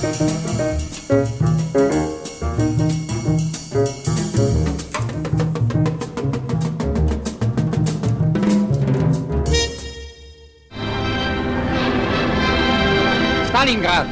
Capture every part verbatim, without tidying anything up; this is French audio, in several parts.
Stalingrad.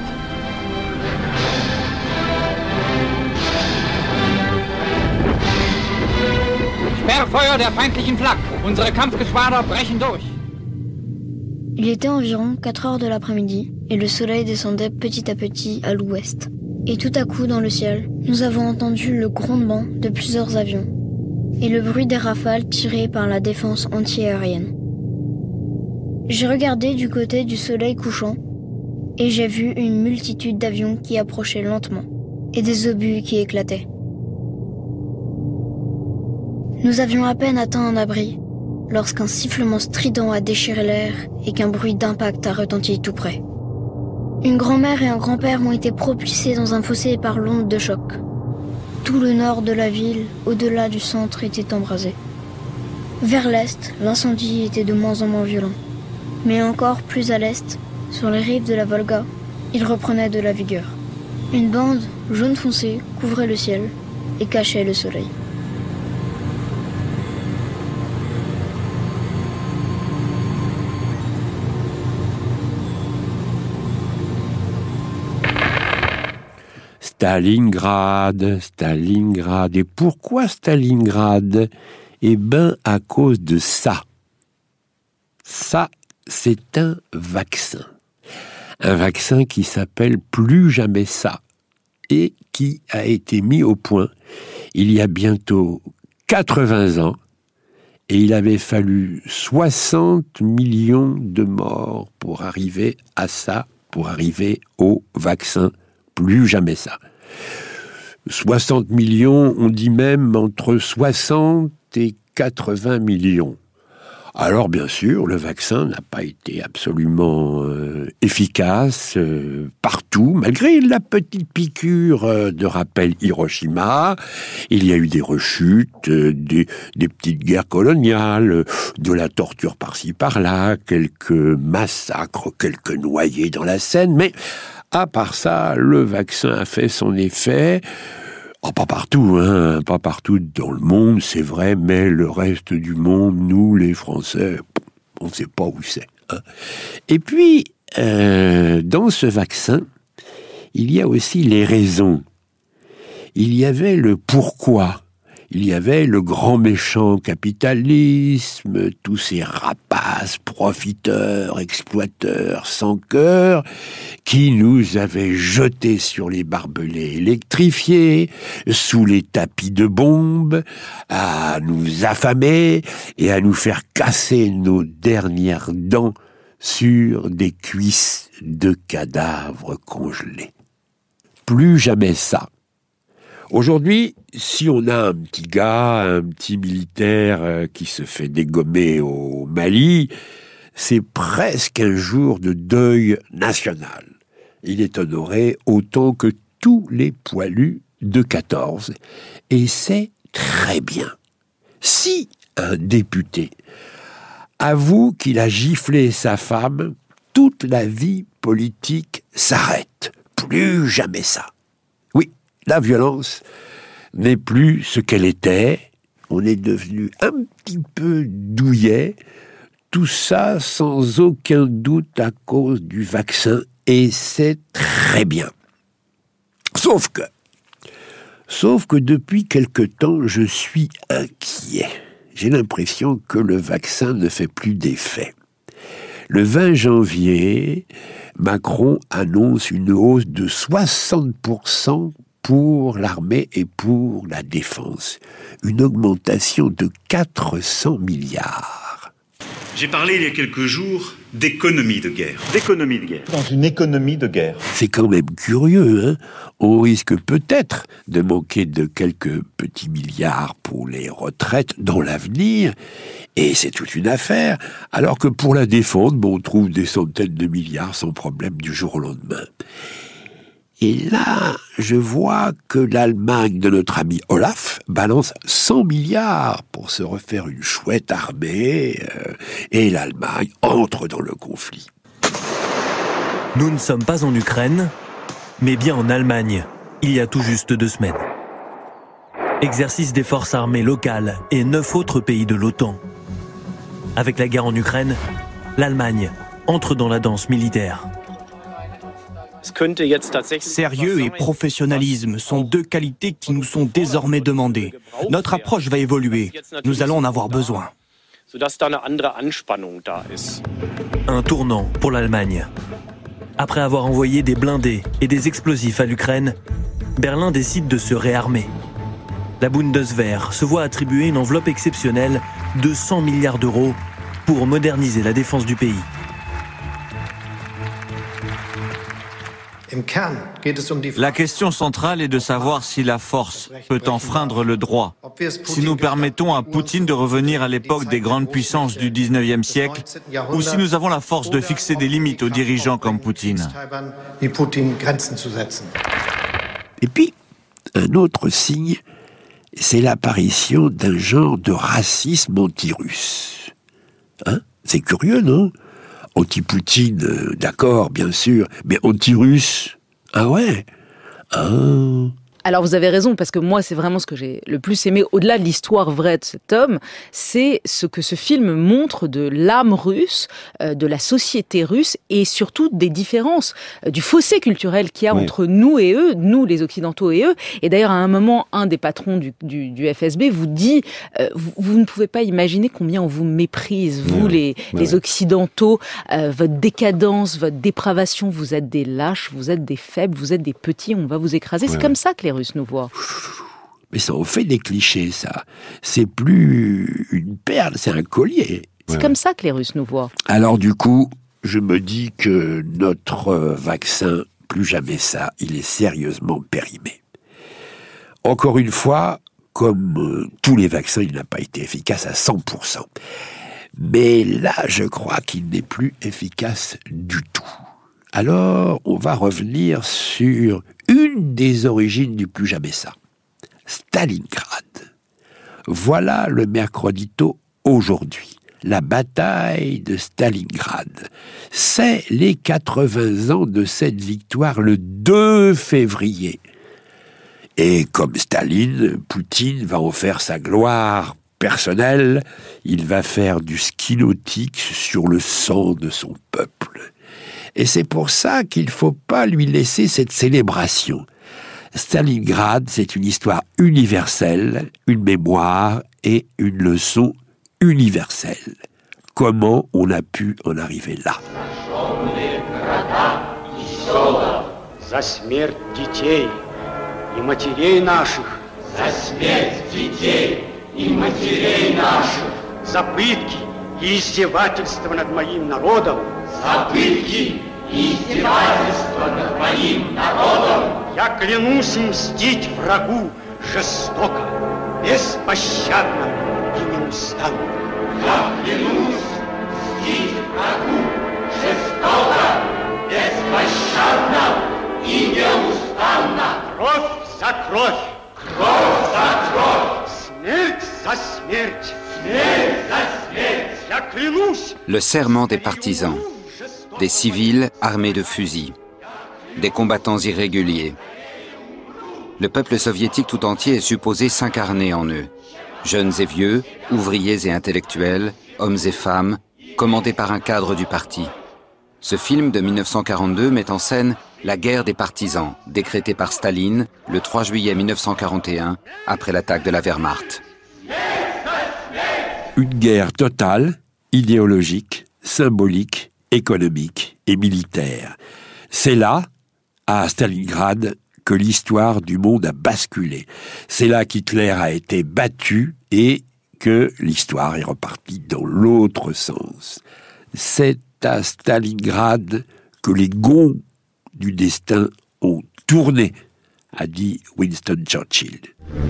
Sperrfeuer der feindlichen Flak. Unsere Kampfgeschwader brechen durch. Il était environ quatre heures de l'après-midi et le soleil descendait petit à petit à l'ouest. Et tout à coup, dans le ciel, nous avons entendu le grondement de plusieurs avions et le bruit des rafales tirées par la défense antiaérienne. J'ai regardé du côté du soleil couchant et j'ai vu une multitude d'avions qui approchaient lentement et des obus qui éclataient. Nous avions à peine atteint un abri lorsqu'un sifflement strident a déchiré l'air et qu'un bruit d'impact a retenti tout près. Une grand-mère et un grand-père ont été propulsés dans un fossé par l'onde de choc. Tout le nord de la ville, au-delà du centre, était embrasé. Vers l'est, l'incendie était de moins en moins violent. Mais encore plus à l'est, sur les rives de la Volga, il reprenait de la vigueur. Une bande jaune foncé couvrait le ciel et cachait le soleil. Stalingrad, Stalingrad. Et pourquoi Stalingrad ? Eh ben, à cause de ça. Ça, c'est un vaccin. Un vaccin qui s'appelle Plus jamais ça et qui a été mis au point il y a bientôt quatre-vingts ans et il avait fallu soixante millions de morts pour arriver à ça, pour arriver au vaccin Plus jamais ça. soixante millions, on dit même entre soixante et quatre-vingts millions. Alors bien sûr, le vaccin n'a pas été absolument euh, efficace euh, partout, malgré la petite piqûre euh, de rappel Hiroshima. Il y a eu des rechutes, euh, des, des petites guerres coloniales, euh, de la torture par-ci par-là, quelques massacres, quelques noyés dans la Seine, mais à part ça, le vaccin a fait son effet. Oh, pas partout, hein, pas partout dans le monde, c'est vrai, mais le reste du monde, nous, les Français, on ne sait pas où c'est. Hein. Et puis, euh, dans ce vaccin, il y a aussi les raisons. Il y avait le pourquoi. Il y avait le grand méchant capitalisme, tous ces rapaces, profiteurs, exploiteurs, sans cœur, qui nous avaient jetés sur les barbelés électrifiés, sous les tapis de bombes, à nous affamer et à nous faire casser nos dernières dents sur des cuisses de cadavres congelés. Plus jamais ça. Aujourd'hui, si on a un petit gars, un petit militaire euh, qui se fait dégommer au Mali, c'est presque un jour de deuil national. Il est honoré autant que tous les poilus de quatorze. Et c'est très bien. Si un député avoue qu'il a giflé sa femme, toute la vie politique s'arrête. Plus jamais ça. La violence n'est plus ce qu'elle était. On est devenu un petit peu douillet. Tout ça sans aucun doute à cause du vaccin. Et c'est très bien. Sauf que, sauf que depuis quelque temps, je suis inquiet. J'ai l'impression que le vaccin ne fait plus d'effet. Le vingt janvier, Macron annonce une hausse de soixante pour cent pour l'armée et pour la défense. Une augmentation de quatre cents milliards. J'ai parlé il y a quelques jours d'économie de guerre. D'économie de guerre. Dans une économie de guerre. C'est quand même curieux, hein ? On risque peut-être de manquer de quelques petits milliards pour les retraites dans l'avenir, et c'est toute une affaire, alors que pour la défense, bon, on trouve des centaines de milliards sans problème du jour au lendemain. Et là, je vois que l'Allemagne de notre ami Olaf balance cent milliards pour se refaire une chouette armée, euh, et l'Allemagne entre dans le conflit. Nous ne sommes pas en Ukraine, mais bien en Allemagne, il y a tout juste deux semaines. Exercice des forces armées locales et neuf autres pays de l'OTAN. Avec la guerre en Ukraine, l'Allemagne entre dans la danse militaire. Sérieux et professionnalisme sont deux qualités qui nous sont désormais demandées. Notre approche va évoluer. Nous allons en avoir besoin. Un tournant pour l'Allemagne. Après avoir envoyé des blindés et des explosifs à l'Ukraine, Berlin décide de se réarmer. La Bundeswehr se voit attribuer une enveloppe exceptionnelle de cent milliards d'euros pour moderniser la défense du pays. La question centrale est de savoir si la force peut enfreindre le droit. Si nous permettons à Poutine de revenir à l'époque des grandes puissances du dix-neuvième siècle, ou si nous avons la force de fixer des limites aux dirigeants comme Poutine. Et puis, un autre signe, c'est l'apparition d'un genre de racisme anti-russe. Hein ? C'est curieux, non ? Anti-Poutine, euh, d'accord, bien sûr, mais anti-russe, ah ouais, ah... Alors vous avez raison, parce que moi c'est vraiment ce que j'ai le plus aimé, au-delà de l'histoire vraie de cet homme, c'est ce que ce film montre de l'âme russe, euh, de la société russe, et surtout des différences, euh, du fossé culturel qu'il y a oui. entre nous et eux, nous les Occidentaux et eux. Et d'ailleurs à un moment, un des patrons du, du, du F S B vous dit, euh, vous, vous ne pouvez pas imaginer combien on vous méprise, vous oui. les, oui. les Occidentaux, euh, votre décadence, votre dépravation, vous êtes des lâches, vous êtes des faibles, vous êtes des petits, on va vous écraser. Oui. C'est comme ça que les Russes nous voient. Mais ça en fait des clichés, ça. C'est plus une perle, c'est un collier. C'est ouais. comme ça que les Russes nous voient. Alors du coup, je me dis que notre vaccin, plus jamais ça, il est sérieusement périmé. Encore une fois, comme euh, tous les vaccins, il n'a pas été efficace à cent pour cent. Mais là, je crois qu'il n'est plus efficace du tout. Alors, on va revenir sur une des origines du plus jamais ça. Stalingrad. Voilà le mercredito aujourd'hui. La bataille de Stalingrad. C'est les quatre-vingts ans de cette victoire le deux février. Et comme Staline, Poutine va en faire sa gloire personnelle. Il va faire du ski nautique sur le sang de son peuple. Et c'est pour ça qu'il ne faut pas lui laisser cette célébration. Stalingrad, c'est une histoire universelle, une mémoire et une leçon universelle. Comment on a pu en arriver là ? За смерть детей и матерей наших. За смерть детей и матерей наших. За пытки и издевательства над моим народом. За пытки и издевательства над моим народом. Я клянусь мстить врагу жестоко, беспощадно и неустанно. Я клянусь мстить врагу жестоко, беспощадно и неустанно. Кровь за кровь. Кровь за кровь. Смерть за смерть. Смерть за смерть. Я клянусь. Le serment des partisans. Des civils armés de fusils. Des combattants irréguliers. Le peuple soviétique tout entier est supposé s'incarner en eux. Jeunes et vieux, ouvriers et intellectuels, hommes et femmes, commandés par un cadre du parti. Ce film de mille neuf cent quarante-deux met en scène la guerre des partisans, décrétée par Staline le trois juillet mille neuf cent quarante et un, après l'attaque de la Wehrmacht. Une guerre totale, idéologique, symbolique, économique et militaire. C'est là, à Stalingrad, que l'histoire du monde a basculé. C'est là qu'Hitler a été battu et que l'histoire est repartie dans l'autre sens. C'est à Stalingrad que les gonds du destin ont tourné, a dit Winston Churchill.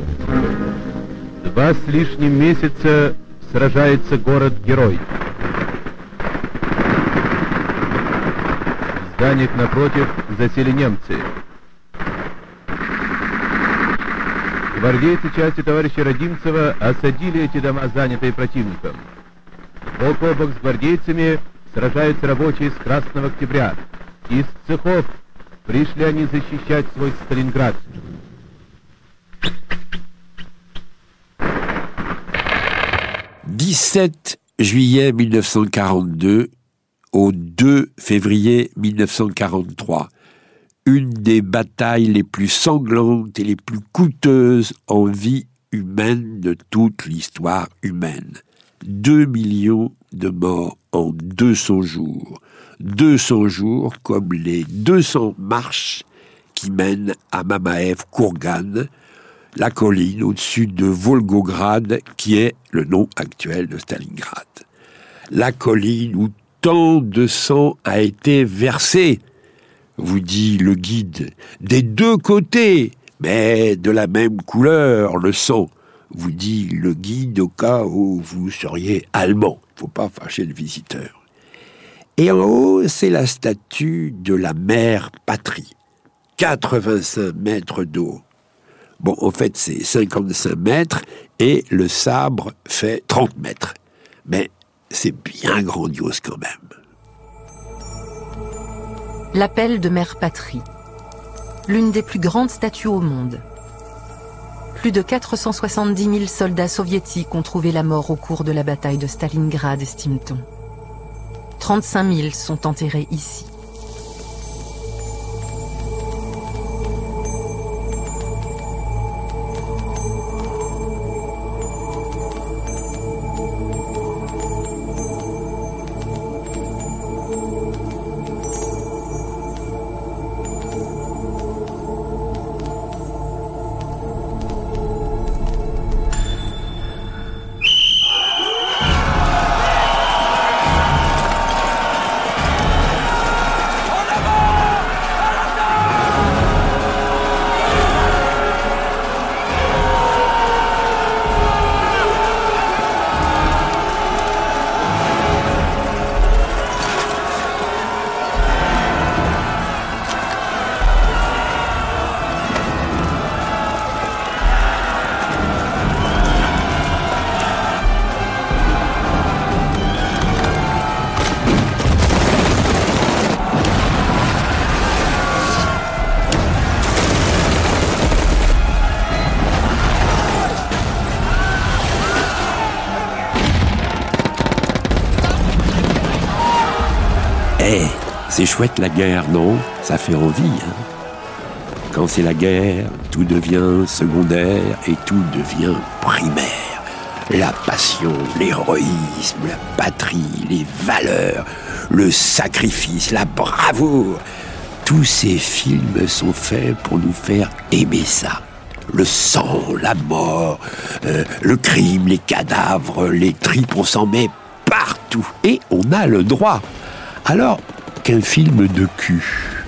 Два с лишним месяца сражается город-герой. В зданиях напротив засели немцы. Гвардейцы части товарища Родимцева осадили эти дома, занятые противником. Бок о бок с гвардейцами сражаются рабочие с Красного Октября, из цехов, Пришли они защищать свой Сталинград. dix-sept juillet mille neuf cent quarante-deux au deux février mille neuf cent quarante-trois. Une des batailles les plus sanglantes et les plus coûteuses en vie humaine de toute l'histoire humaine. Deux millions de morts en deux cents jours. deux cents jours comme les deux cents marches qui mènent à Mamaev-Kourgan, la colline au-dessus de Volgograd, qui est le nom actuel de Stalingrad. La colline où tant de sang a été versé, vous dit le guide, des deux côtés, mais de la même couleur, le sang, vous dit le guide au cas où vous seriez allemand. Il ne faut pas fâcher le visiteur. Et en haut, c'est la statue de la mère patrie, quatre-vingt-cinq mètres d'eau. Bon, en fait, c'est cinquante-cinq mètres et le sabre fait trente mètres. Mais c'est bien grandiose quand même. L'appel de Mère Patrie. L'une des plus grandes statues au monde. Plus de quatre cent soixante-dix mille soldats soviétiques ont trouvé la mort au cours de la bataille de Stalingrad, estime-t-on. trente-cinq mille sont enterrés ici. C'est chouette la guerre, non? Ça fait envie, hein? Quand c'est la guerre, tout devient secondaire et tout devient primaire. La passion, l'héroïsme, la patrie, les valeurs, le sacrifice, la bravoure. Tous ces films sont faits pour nous faire aimer ça. Le sang, la mort, euh, le crime, les cadavres, les tripes, on s'en met partout. Et on a le droit. Alors, qu'un film de cul.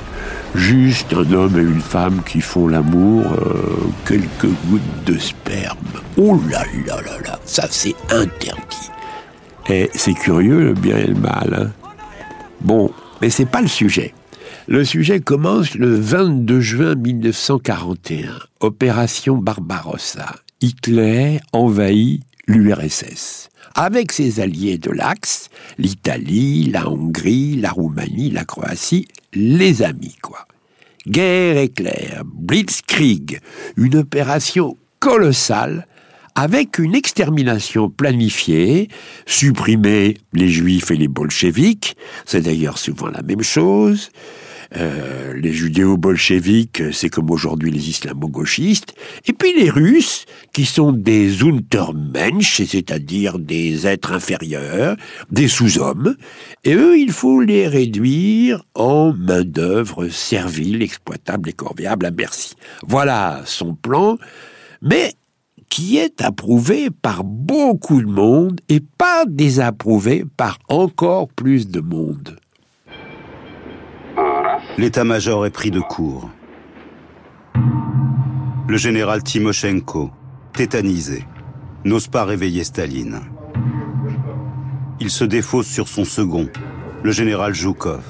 Juste un homme et une femme qui font l'amour, euh, quelques gouttes de sperme. Oh là là là là, ça c'est interdit. Et c'est curieux le bien et le mal. Hein. Bon, mais c'est pas le sujet. Le sujet commence le vingt-deux juin mille neuf cent quarante et un. Opération Barbarossa. Hitler envahit l'U R S S. Avec ses alliés de l'Axe, l'Italie, la Hongrie, la Roumanie, la Croatie, les amis, quoi. Guerre éclair, Blitzkrieg, une opération colossale avec une extermination planifiée, supprimer les juifs et les bolcheviks, c'est d'ailleurs souvent la même chose. Euh, les judéo-bolcheviks, c'est comme aujourd'hui les islamo-gauchistes, et puis les Russes, qui sont des Untermensch, c'est-à-dire des êtres inférieurs, des sous-hommes, et eux, il faut les réduire en main-d'œuvre servile, exploitable et corvéable à merci. Voilà son plan, mais qui est approuvé par beaucoup de monde et pas désapprouvé par encore plus de monde. L'état-major est pris de court. Le général Timoshenko, tétanisé, n'ose pas réveiller Staline. Il se défausse sur son second, le général Zhukov.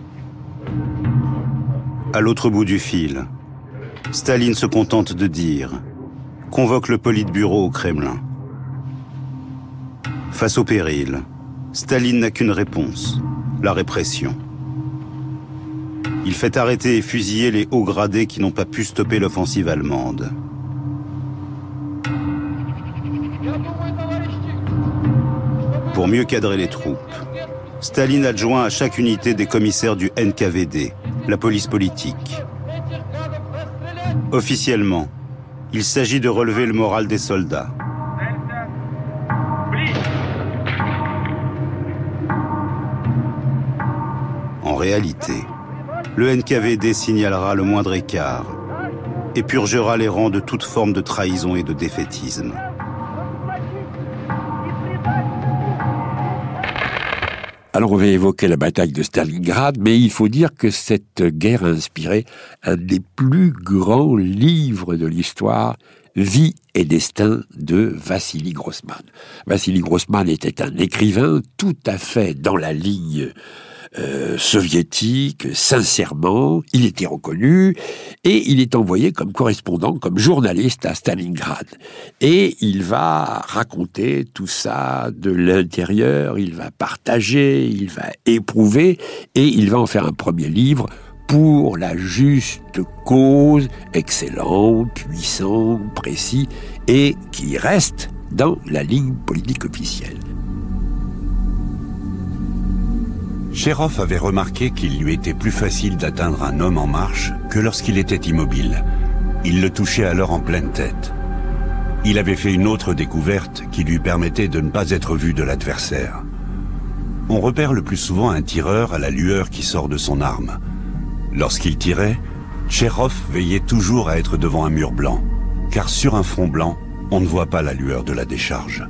À l'autre bout du fil, Staline se contente de dire « Convoque le Politburo au Kremlin ». Face au péril, Staline n'a qu'une réponse, la répression. Il fait arrêter et fusiller les hauts gradés qui n'ont pas pu stopper l'offensive allemande. Pour mieux cadrer les troupes, Staline adjoint à chaque unité des commissaires du N K V D, la police politique. Officiellement, il s'agit de relever le moral des soldats. En réalité, le N K V D signalera le moindre écart et purgera les rangs de toute forme de trahison et de défaitisme. Alors on va évoquer la bataille de Stalingrad, mais il faut dire que cette guerre a inspiré un des plus grands livres de l'histoire, Vie et destin de Vassili Grossman. Vassili Grossman était un écrivain tout à fait dans la ligne Euh, soviétique, sincèrement, il était reconnu et il est envoyé comme correspondant, comme journaliste à Stalingrad. Et il va raconter tout ça de l'intérieur, il va partager, il va éprouver et il va en faire un premier livre pour la juste cause, excellent, puissant, précis et qui reste dans la ligne politique officielle. Chérov avait remarqué qu'il lui était plus facile d'atteindre un homme en marche que lorsqu'il était immobile. Il le touchait alors en pleine tête. Il avait fait une autre découverte qui lui permettait de ne pas être vu de l'adversaire. On repère le plus souvent un tireur à la lueur qui sort de son arme. Lorsqu'il tirait, Chérov veillait toujours à être devant un mur blanc, car sur un front blanc, on ne voit pas la lueur de la décharge.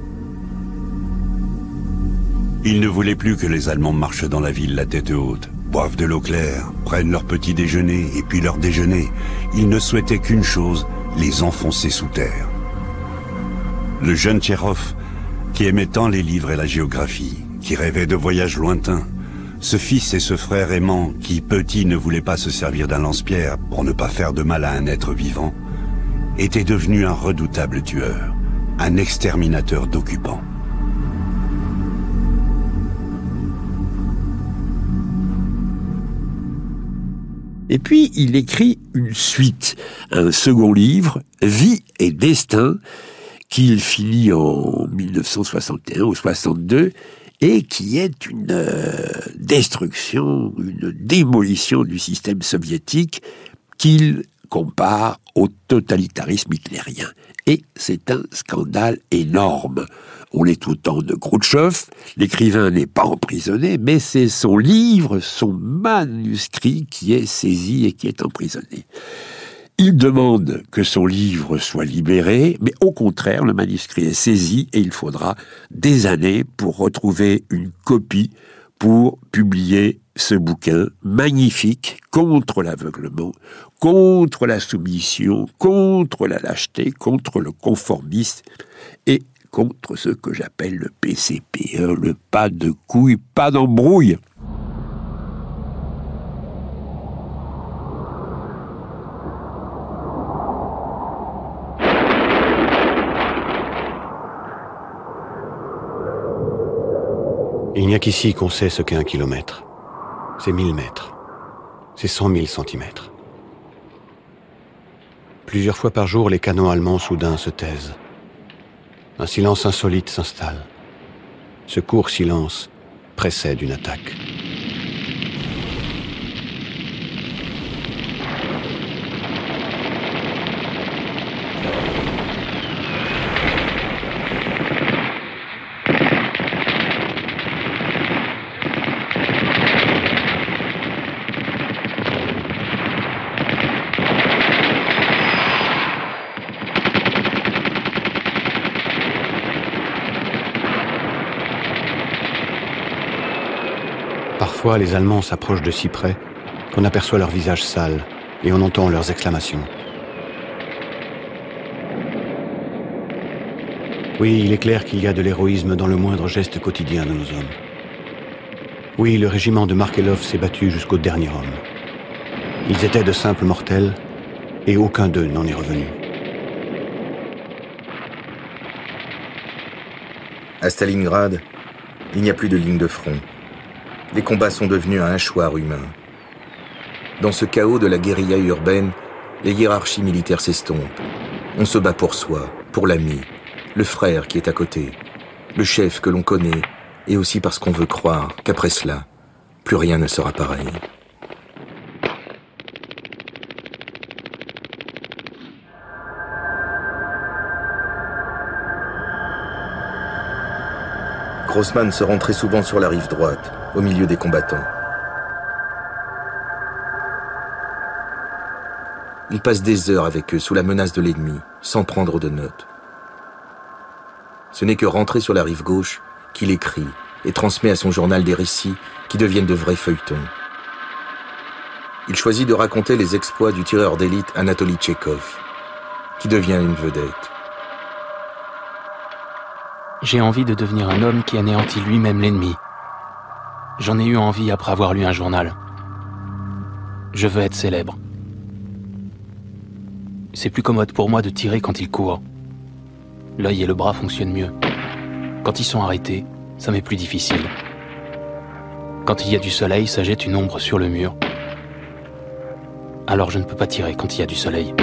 Il ne voulait plus que les Allemands marchent dans la ville la tête haute, boivent de l'eau claire, prennent leur petit déjeuner et puis leur déjeuner. Il ne souhaitait qu'une chose, les enfoncer sous terre. Le jeune Tchérov, qui aimait tant les livres et la géographie, qui rêvait de voyages lointains, ce fils et ce frère aimant qui, petit, ne voulait pas se servir d'un lance-pierre pour ne pas faire de mal à un être vivant, était devenu un redoutable tueur, un exterminateur d'occupants. Et puis, il écrit une suite, un second livre, Vie et destin, qu'il finit en mille neuf cent soixante et un ou soixante-deux, et qui est une euh, destruction, une démolition du système soviétique qu'il compare au totalitarisme hitlérien. Et c'est un scandale énorme. On est au temps de Khrouchtchev, l'écrivain n'est pas emprisonné, mais c'est son livre, son manuscrit qui est saisi et qui est emprisonné. Il demande que son livre soit libéré, mais au contraire, le manuscrit est saisi et il faudra des années pour retrouver une copie pour publier ce bouquin magnifique contre l'aveuglement, contre la soumission, contre la lâcheté, contre le conformisme et contre ce que j'appelle le P C P, hein, le pas de couilles, pas d'embrouille. Il n'y a qu'ici qu'on sait ce qu'est un kilomètre. C'est mille mètres. C'est cent mille centimètres. Plusieurs fois par jour, les canons allemands soudain se taisent. Un silence insolite s'installe. Ce court silence précède une attaque. Parfois, les Allemands s'approchent de si près qu'on aperçoit leurs visages sales et on entend leurs exclamations. Oui, il est clair qu'il y a de l'héroïsme dans le moindre geste quotidien de nos hommes. Oui, le régiment de Markelov s'est battu jusqu'au dernier homme. Ils étaient de simples mortels et aucun d'eux n'en est revenu. À Stalingrad, il n'y a plus de ligne de front. Les combats sont devenus un hachoir humain. Dans ce chaos de la guérilla urbaine, les hiérarchies militaires s'estompent. On se bat pour soi, pour l'ami, le frère qui est à côté, le chef que l'on connaît, et aussi parce qu'on veut croire qu'après cela, plus rien ne sera pareil. Grossman se rend très souvent sur la rive droite, au milieu des combattants. Il passe des heures avec eux sous la menace de l'ennemi, sans prendre de notes. Ce n'est que rentré sur la rive gauche qu'il écrit et transmet à son journal des récits qui deviennent de vrais feuilletons. Il choisit de raconter les exploits du tireur d'élite Anatoly Tchekhov, qui devient une vedette. J'ai envie de devenir un homme qui anéantit lui-même l'ennemi. J'en ai eu envie après avoir lu un journal. Je veux être célèbre. C'est plus commode pour moi de tirer quand il court. L'œil et le bras fonctionnent mieux. Quand ils sont arrêtés, ça m'est plus difficile. Quand il y a du soleil, ça jette une ombre sur le mur. Alors je ne peux pas tirer quand il y a du soleil.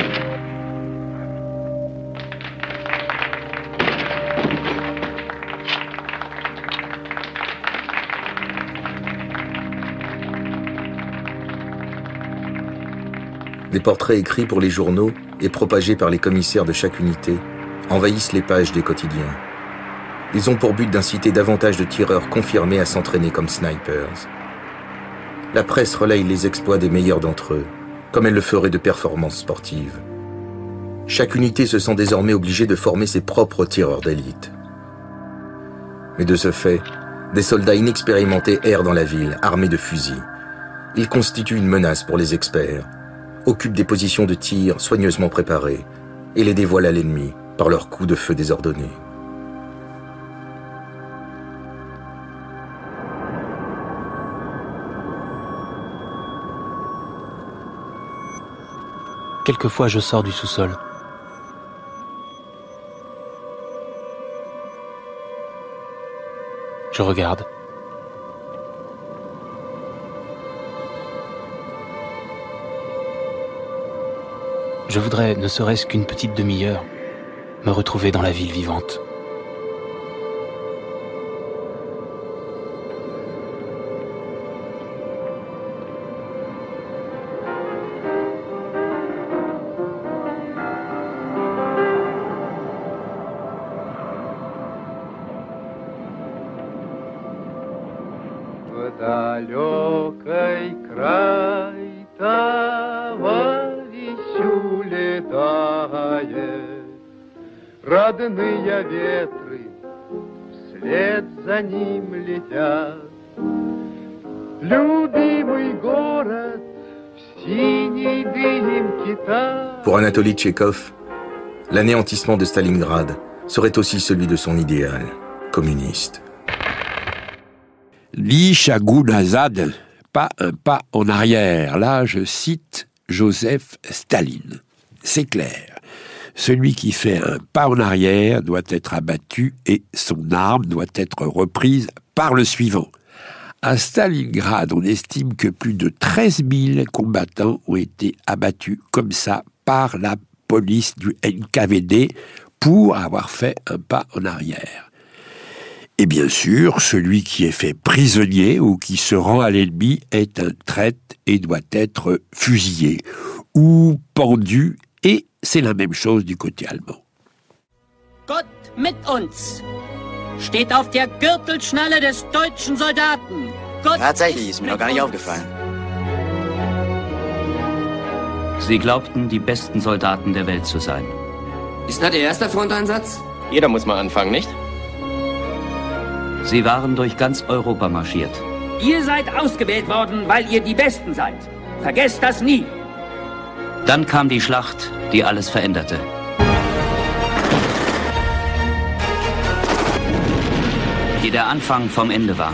Des portraits écrits pour les journaux et propagés par les commissaires de chaque unité envahissent les pages des quotidiens. Ils ont pour but d'inciter davantage de tireurs confirmés à s'entraîner comme snipers. La presse relaye les exploits des meilleurs d'entre eux, comme elle le ferait de performances sportives. Chaque unité se sent désormais obligée de former ses propres tireurs d'élite. Mais de ce fait, des soldats inexpérimentés errent dans la ville, armés de fusils. Ils constituent une menace pour les experts, occupent des positions de tir soigneusement préparées et les dévoilent à l'ennemi par leurs coups de feu désordonnés. Quelquefois, je sors du sous-sol. Je regarde. Je voudrais, ne serait-ce qu'une petite demi-heure, me retrouver dans la ville vivante. Родные ветры вслед за ним летят. Любимый город в синей дымке тает. Pour Anatoly Tchekhov, l'anéantissement de Stalingrad serait aussi celui de son idéal communiste. Ni Chagoun Azad, pas un pas en arrière. Là, je cite Joseph Staline. C'est clair. Celui qui fait un pas en arrière doit être abattu et son arme doit être reprise par le suivant. À Stalingrad, on estime que plus de treize mille combattants ont été abattus comme ça par la police du N K V D pour avoir fait un pas en arrière. Et bien sûr, celui qui est fait prisonnier ou qui se rend à l'ennemi est un traître et doit être fusillé ou pendu. Et c'est la même chose du côté allemand. Gott mit uns steht auf der Gürtelschnalle des deutschen Soldaten. Gott Tatsächlich, ist mir noch gar nicht aufgefallen. Sie glaubten, die besten Soldaten der Welt zu sein. Ist das Ihr erster Fronteinsatz? Jeder muss mal anfangen, nicht? Sie waren durch ganz Europa marschiert. Ihr seid ausgewählt worden, weil ihr die Besten seid. Vergesst das nie. Dann kam die Schlacht, die alles veränderte. Die der Anfang vom Ende war.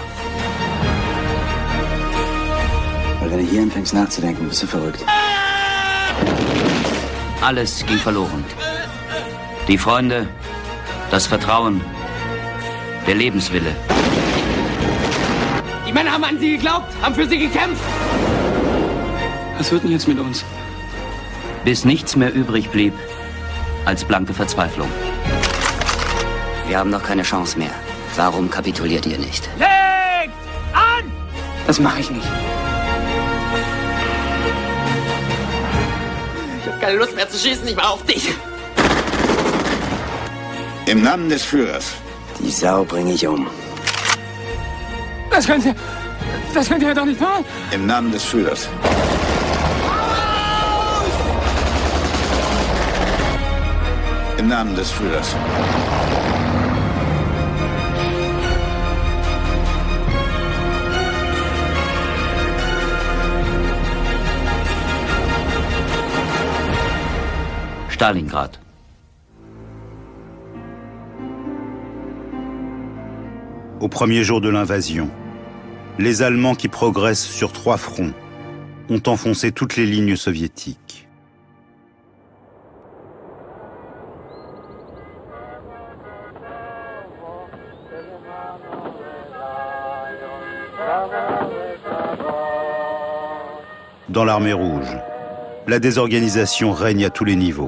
Weil wenn du hier anfängst nachzudenken, bist du verrückt. Alles ging verloren. Die Freunde, das Vertrauen, der Lebenswille. Die Männer haben an sie geglaubt, haben für sie gekämpft. Was wird denn jetzt mit uns? Bis nichts mehr übrig blieb als blanke Verzweiflung. Wir haben noch keine Chance mehr. Warum kapituliert ihr nicht? Legt an! Das mache ich nicht. Ich habe keine Lust mehr zu schießen, ich war auf dich. Im Namen des Führers. Die Sau bringe ich um. Das könnt ihr... Das könnt ihr doch nicht machen. Im Namen des Führers. Im Namen des Führers. Stalingrad. Au premier jour de l'invasion, les Allemands qui progressent sur trois fronts ont enfoncé toutes les lignes soviétiques. Dans l'armée rouge, la désorganisation règne à tous les niveaux.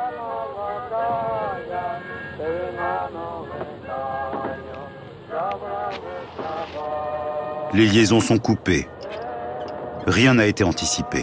Les liaisons sont coupées. Rien n'a été anticipé.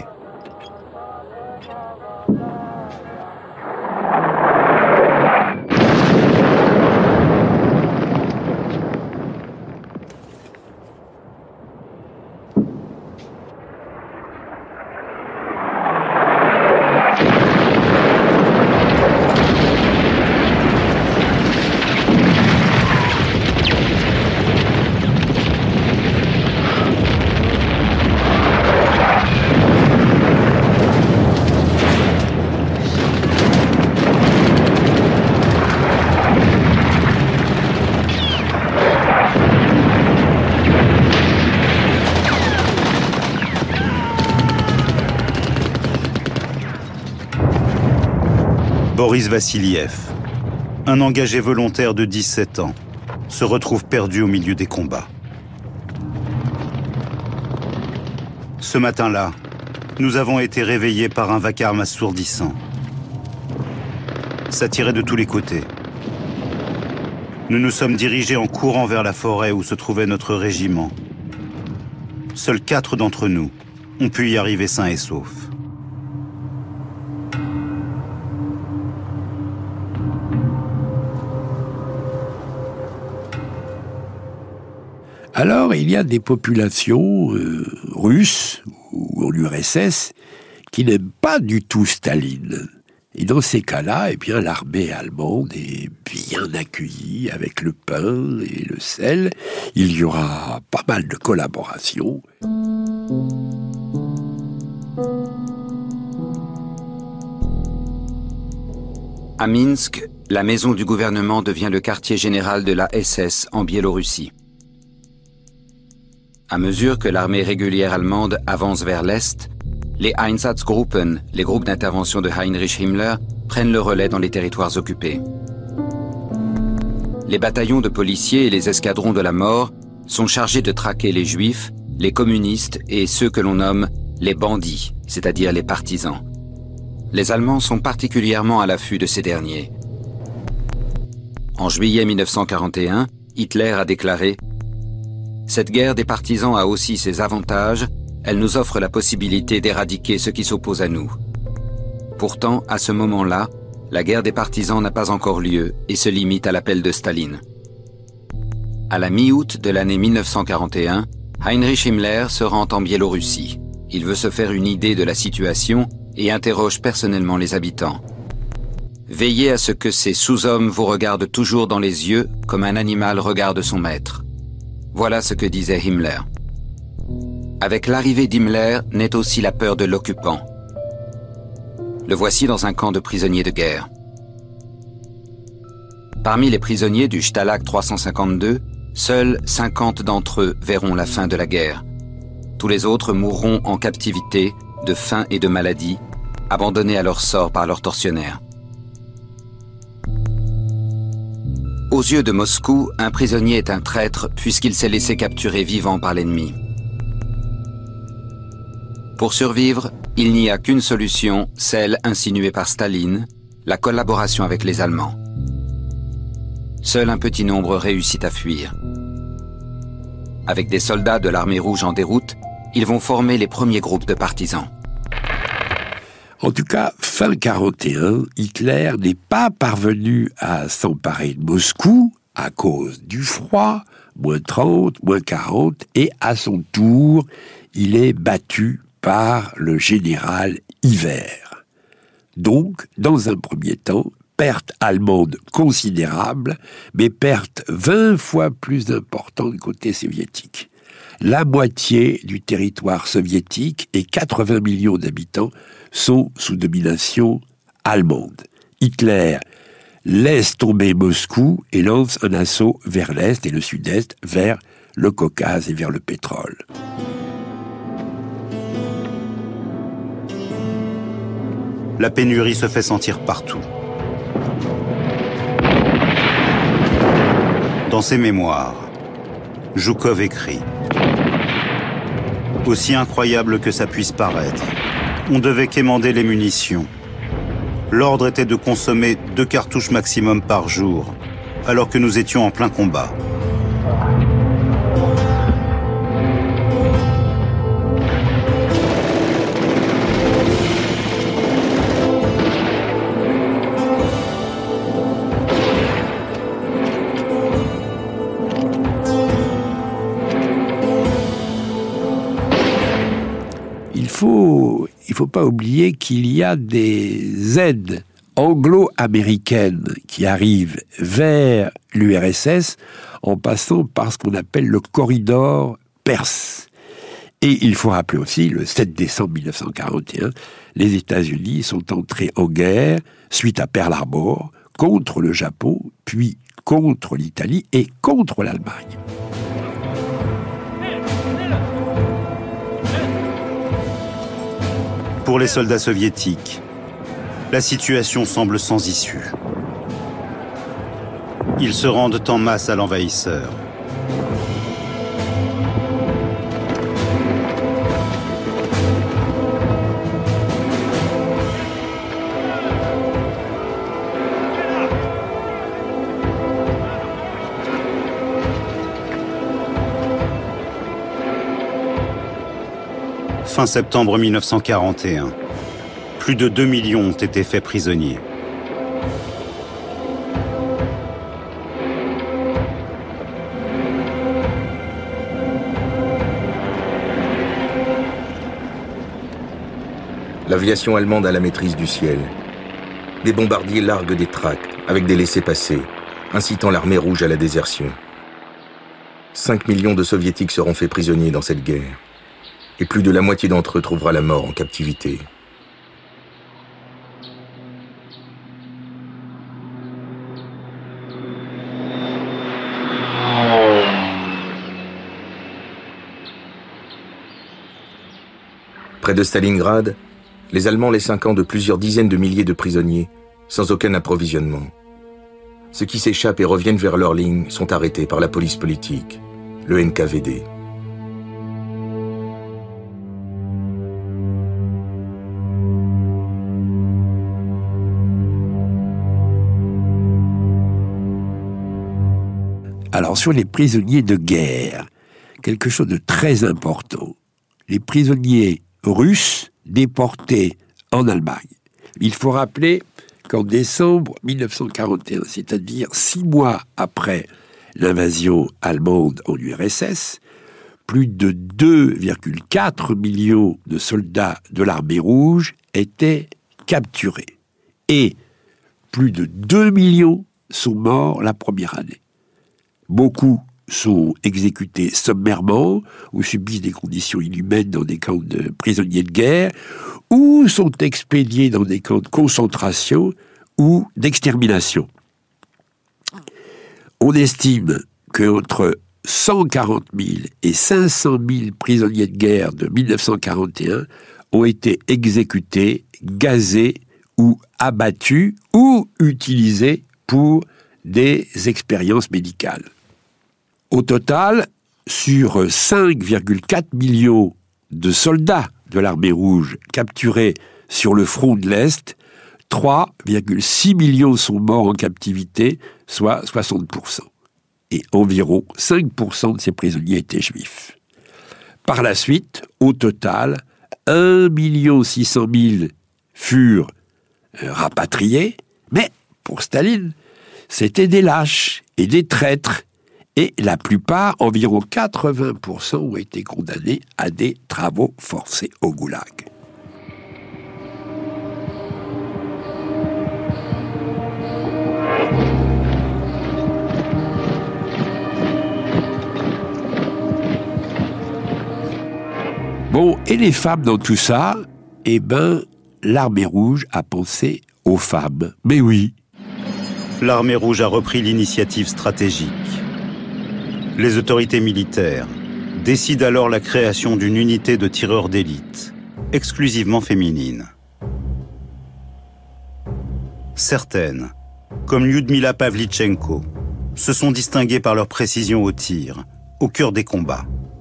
Boris Vassiliev, un engagé volontaire de dix-sept ans, se retrouve perdu au milieu des combats. Ce matin-là, nous avons été réveillés par un vacarme assourdissant. Ça tirait de tous les côtés. Nous nous sommes dirigés en courant vers la forêt où se trouvait notre régiment. Seuls quatre d'entre nous ont pu y arriver sains et saufs. Alors, il y a des populations euh, russes ou en U R S S qui n'aiment pas du tout Staline. Et dans ces cas-là, eh bien, l'armée allemande est bien accueillie avec le pain et le sel. Il y aura pas mal de collaboration. À Minsk, la maison du gouvernement devient le quartier général de la S S en Biélorussie. À mesure que l'armée régulière allemande avance vers l'Est, les Einsatzgruppen, les groupes d'intervention de Heinrich Himmler, prennent le relais dans les territoires occupés. Les bataillons de policiers et les escadrons de la mort sont chargés de traquer les juifs, les communistes et ceux que l'on nomme les bandits, c'est-à-dire les partisans. Les Allemands sont particulièrement à l'affût de ces derniers. En juillet mille neuf cent quarante et un, Hitler a déclaré « Cette guerre des partisans a aussi ses avantages, elle nous offre la possibilité d'éradiquer ceux qui s'opposent à nous. » Pourtant, à ce moment-là, la guerre des partisans n'a pas encore lieu et se limite à l'appel de Staline. À la mi-août de l'année mille neuf cent quarante et un, Heinrich Himmler se rend en Biélorussie. Il veut se faire une idée de la situation et interroge personnellement les habitants. Veillez à ce que ces sous-hommes vous regardent toujours dans les yeux comme un animal regarde son maître. Voilà ce que disait Himmler. Avec l'arrivée d'Himmler naît aussi la peur de l'occupant. Le voici dans un camp de prisonniers de guerre. Parmi les prisonniers du Stalag trois cent cinquante-deux, seuls cinquante d'entre eux verront la fin de la guerre. Tous les autres mourront en captivité, de faim et de maladie, abandonnés à leur sort par leurs tortionnaires. Aux yeux de Moscou, un prisonnier est un traître puisqu'il s'est laissé capturer vivant par l'ennemi. Pour survivre, il n'y a qu'une solution, celle insinuée par Staline, la collaboration avec les Allemands. Seul un petit nombre réussit à fuir. Avec des soldats de l'armée rouge en déroute, ils vont former les premiers groupes de partisans. En tout cas, fin quarante et un, Hitler n'est pas parvenu à s'emparer de Moscou à cause du froid, moins trente, moins quarante, et à son tour, il est battu par le général Hivert. Donc, dans un premier temps, perte allemande considérable, mais perte vingt fois plus importante côté soviétique. La moitié du territoire soviétique et quatre-vingts millions d'habitants sont sous domination allemande. Hitler laisse tomber Moscou et lance un assaut vers l'Est et le Sud-Est, vers le Caucase et vers le pétrole. La pénurie se fait sentir partout. Dans ses mémoires, Zhukov écrit « Aussi incroyable que ça puisse paraître, on devait quémander les munitions. L'ordre était de consommer deux cartouches maximum par jour, alors que nous étions en plein combat. » Il faut, il faut pas oublier qu'il y a des aides anglo-américaines qui arrivent vers l'U R S S en passant par ce qu'on appelle le corridor perse. Et il faut rappeler aussi, le sept décembre mille neuf cent quarante et un, les États-Unis sont entrés en guerre suite à Pearl Harbor contre le Japon, puis contre l'Italie et contre l'Allemagne. Pour les soldats soviétiques, la situation semble sans issue. Ils se rendent en masse à l'envahisseur. Fin septembre mille neuf cent quarante et un, plus de deux millions ont été faits prisonniers. L'aviation allemande a la maîtrise du ciel. Des bombardiers larguent des tracts avec des laissez-passer, incitant l'armée rouge à la désertion. Cinq millions de soviétiques seront faits prisonniers dans cette guerre. Et plus de la moitié d'entre eux trouvera la mort en captivité. Près de Stalingrad, les Allemands laissent un camp de plusieurs dizaines de milliers de prisonniers, sans aucun approvisionnement. Ceux qui s'échappent et reviennent vers leur ligne sont arrêtés par la police politique, le N K V D. Alors, sur les prisonniers de guerre, quelque chose de très important. Les prisonniers russes déportés en Allemagne. Il faut rappeler qu'en décembre mille neuf cent quarante et un, c'est-à-dire six mois après l'invasion allemande en U R S S, plus de deux virgule quatre millions de soldats de l'armée rouge étaient capturés. Et plus de deux millions sont morts la première année. Beaucoup sont exécutés sommairement ou subissent des conditions inhumaines dans des camps de prisonniers de guerre ou sont expédiés dans des camps de concentration ou d'extermination. On estime qu'entre cent quarante mille et cinq cent mille prisonniers de guerre de mille neuf cent quarante et un ont été exécutés, gazés ou abattus ou utilisés pour des expériences médicales. Au total, sur cinq virgule quatre millions de soldats de l'armée rouge capturés sur le front de l'Est, trois virgule six millions sont morts en captivité, soit soixante pour cent. Et environ cinq pour cent de ces prisonniers étaient juifs. Par la suite, au total, un million six cent mille furent rapatriés, mais pour Staline, c'étaient des lâches et des traîtres, et la plupart, environ quatre-vingts pour cent, ont été condamnés à des travaux forcés au goulag. Bon, et les femmes dans tout ça? Eh ben, l'armée rouge a pensé aux femmes. Mais oui. L'armée rouge a repris l'initiative stratégique. Les autorités militaires décident alors la création d'une unité de tireurs d'élite, exclusivement féminine. Certaines, comme Lyudmila Pavlichenko, se sont distinguées par leur précision au tir, au cœur des combats.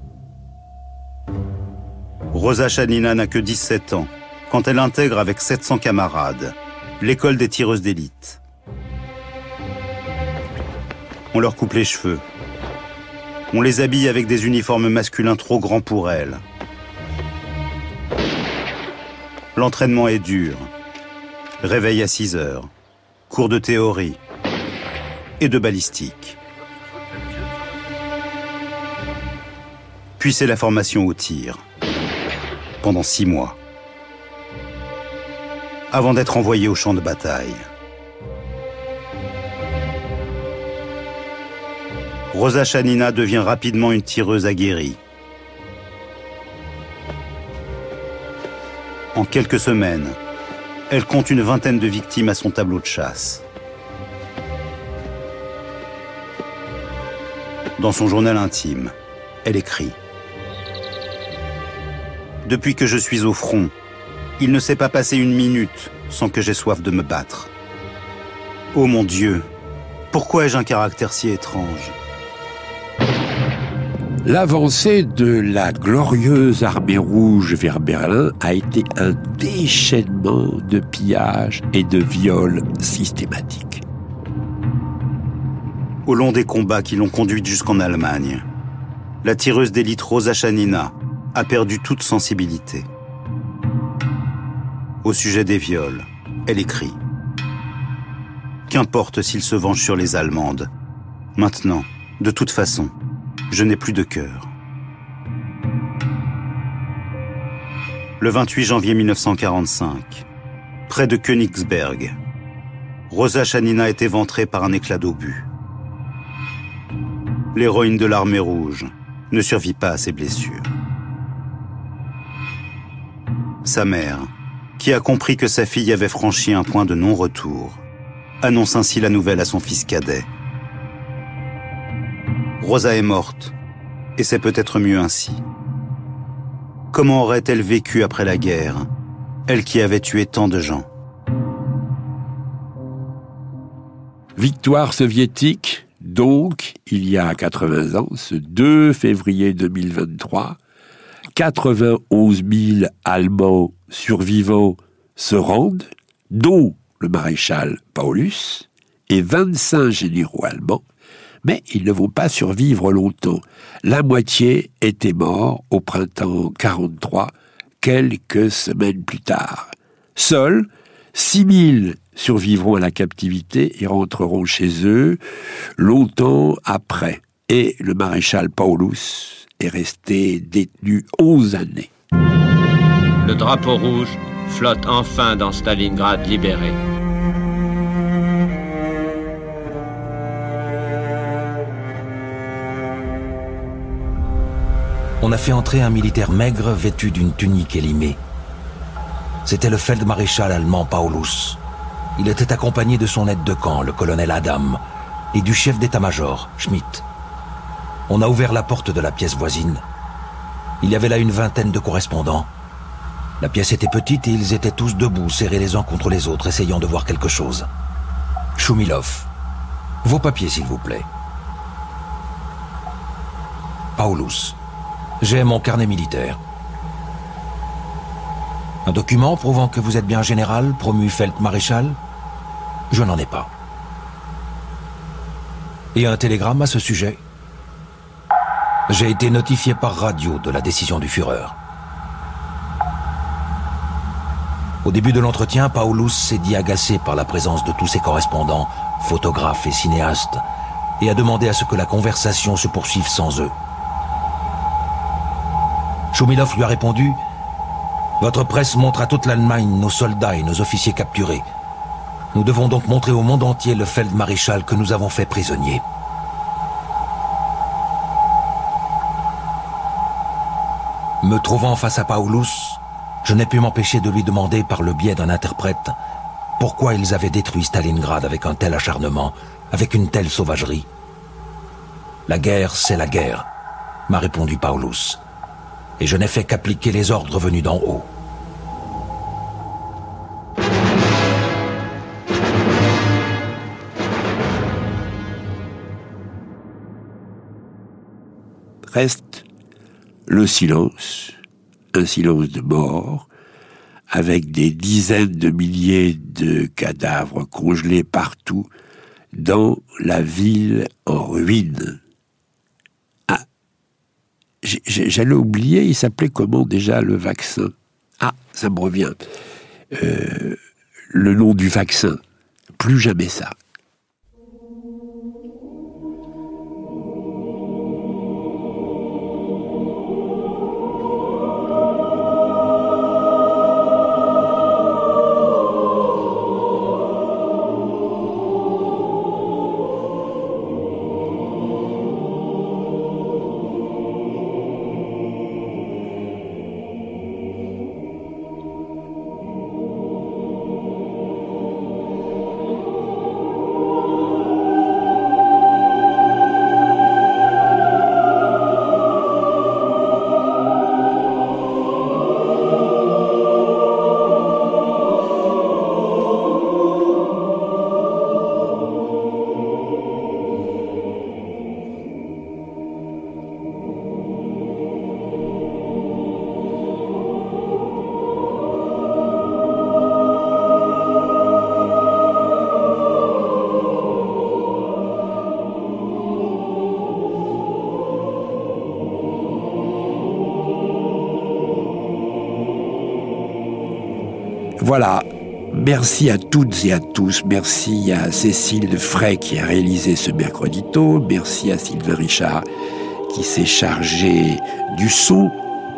Rosa Chanina n'a que dix-sept ans quand elle intègre avec sept cents camarades l'école des tireuses d'élite. On leur coupe les cheveux. On les habille avec des uniformes masculins trop grands pour elles. L'entraînement est dur. Réveil à six heures. Cours de théorie et de balistique. Puis c'est la formation au tir. Pendant six mois. Avant d'être envoyé au champ de bataille. Rosa Chanina devient rapidement une tireuse aguerrie. En quelques semaines, elle compte une vingtaine de victimes à son tableau de chasse. Dans son journal intime, elle écrit « Depuis que je suis au front, il ne s'est pas passé une minute sans que j'aie soif de me battre. Oh mon Dieu, pourquoi ai-je un caractère si étrange ?» L'avancée de la glorieuse armée rouge vers Berlin a été un déchaînement de pillages et de viols systématiques. Au long des combats qui l'ont conduite jusqu'en Allemagne, la tireuse d'élite Rosa Chanina a perdu toute sensibilité. Au sujet des viols, elle écrit « Qu'importe s'il se venge sur les Allemandes. Maintenant, de toute façon, je n'ai plus de cœur. » Le vingt-huit janvier mille neuf cent quarante-cinq, près de Königsberg, Rosa Chanina est éventrée par un éclat d'obus. L'héroïne de l'armée rouge ne survit pas à ses blessures. Sa mère, qui a compris que sa fille avait franchi un point de non-retour, annonce ainsi la nouvelle à son fils cadet. Rosa est morte, et c'est peut-être mieux ainsi. Comment aurait-elle vécu après la guerre, elle qui avait tué tant de gens? Victoire soviétique, donc, il y a quatre-vingts ans, ce deux février deux mille vingt-trois, quatre-vingt-onze mille Allemands survivants se rendent, dont le maréchal Paulus et vingt-cinq généraux allemands, mais ils ne vont pas survivre longtemps. La moitié était mort au printemps quarante-trois, quelques semaines plus tard. Seuls six mille survivront à la captivité et rentreront chez eux longtemps après. Et le maréchal Paulus est resté détenu onze années. Le drapeau rouge flotte enfin dans Stalingrad libéré. On a fait entrer un militaire maigre vêtu d'une tunique élimée. C'était le feldmaréchal allemand Paulus. Il était accompagné de son aide de camp, le colonel Adam, et du chef d'état-major, Schmidt. On a ouvert la porte de la pièce voisine. Il y avait là une vingtaine de correspondants. La pièce était petite et ils étaient tous debout, serrés les uns contre les autres, essayant de voir quelque chose. Shumilov. Vos papiers, s'il vous plaît. Paulus. J'ai mon carnet militaire. Un document prouvant que vous êtes bien général, promu Feldmaréchal? Je n'en ai pas. Et un télégramme à ce sujet? J'ai été notifié par radio de la décision du Führer. Au début de l'entretien, Paulus s'est dit agacé par la présence de tous ses correspondants, photographes et cinéastes, et a demandé à ce que la conversation se poursuive sans eux. Shumilov lui a répondu « Votre presse montre à toute l'Allemagne nos soldats et nos officiers capturés. Nous devons donc montrer au monde entier le Feldmaréchal que nous avons fait prisonnier. » Me trouvant face à Paulus, je n'ai pu m'empêcher de lui demander par le biais d'un interprète pourquoi ils avaient détruit Stalingrad avec un tel acharnement, avec une telle sauvagerie. « La guerre, c'est la guerre », m'a répondu Paulus, et je n'ai fait qu'appliquer les ordres venus d'en haut. Reste le silence, un silence de mort, avec des dizaines de milliers de cadavres congelés partout dans la ville en ruine. Ah, j'allais oublier, il s'appelait comment déjà le vaccin? Ah, ça me revient. Euh, le nom du vaccin, plus jamais ça. Voilà, merci à toutes et à tous, merci à Cécile Frey qui a réalisé ce mercredi tôt, merci à Sylvain Richard qui s'est chargé du son.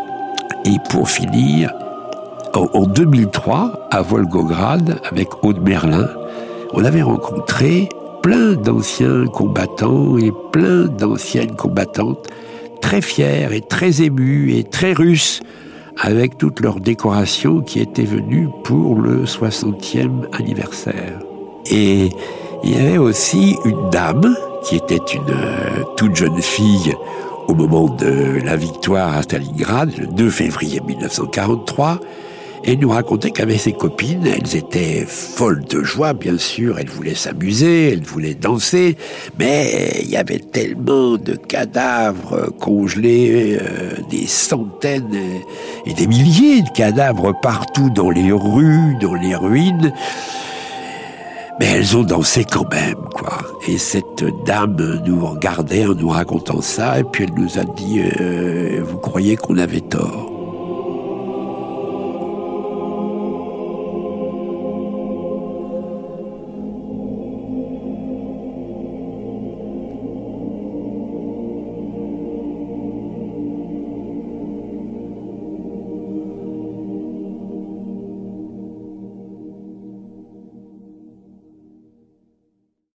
Et pour finir, en, en deux mille trois, à Volgograd, avec Aude Merlin, on avait rencontré plein d'anciens combattants et plein d'anciennes combattantes, très fiers et très émus et très russes, avec toutes leurs décorations qui étaient venues pour le soixantième anniversaire. Et il y avait aussi une dame qui était une euh, toute jeune fille au moment de la victoire à Stalingrad, le deux février mille neuf cent quarante-trois, et nous racontait qu'avec ses copines, elles étaient folles de joie, bien sûr, elles voulaient s'amuser, elles voulaient danser, mais il y avait tellement de cadavres congelés, euh, des centaines et des milliers de cadavres partout dans les rues, dans les ruines. Mais elles ont dansé quand même, quoi. Et cette dame nous regardait en nous racontant ça, et puis elle nous a dit euh, « Vous croyez qu'on avait tort ?»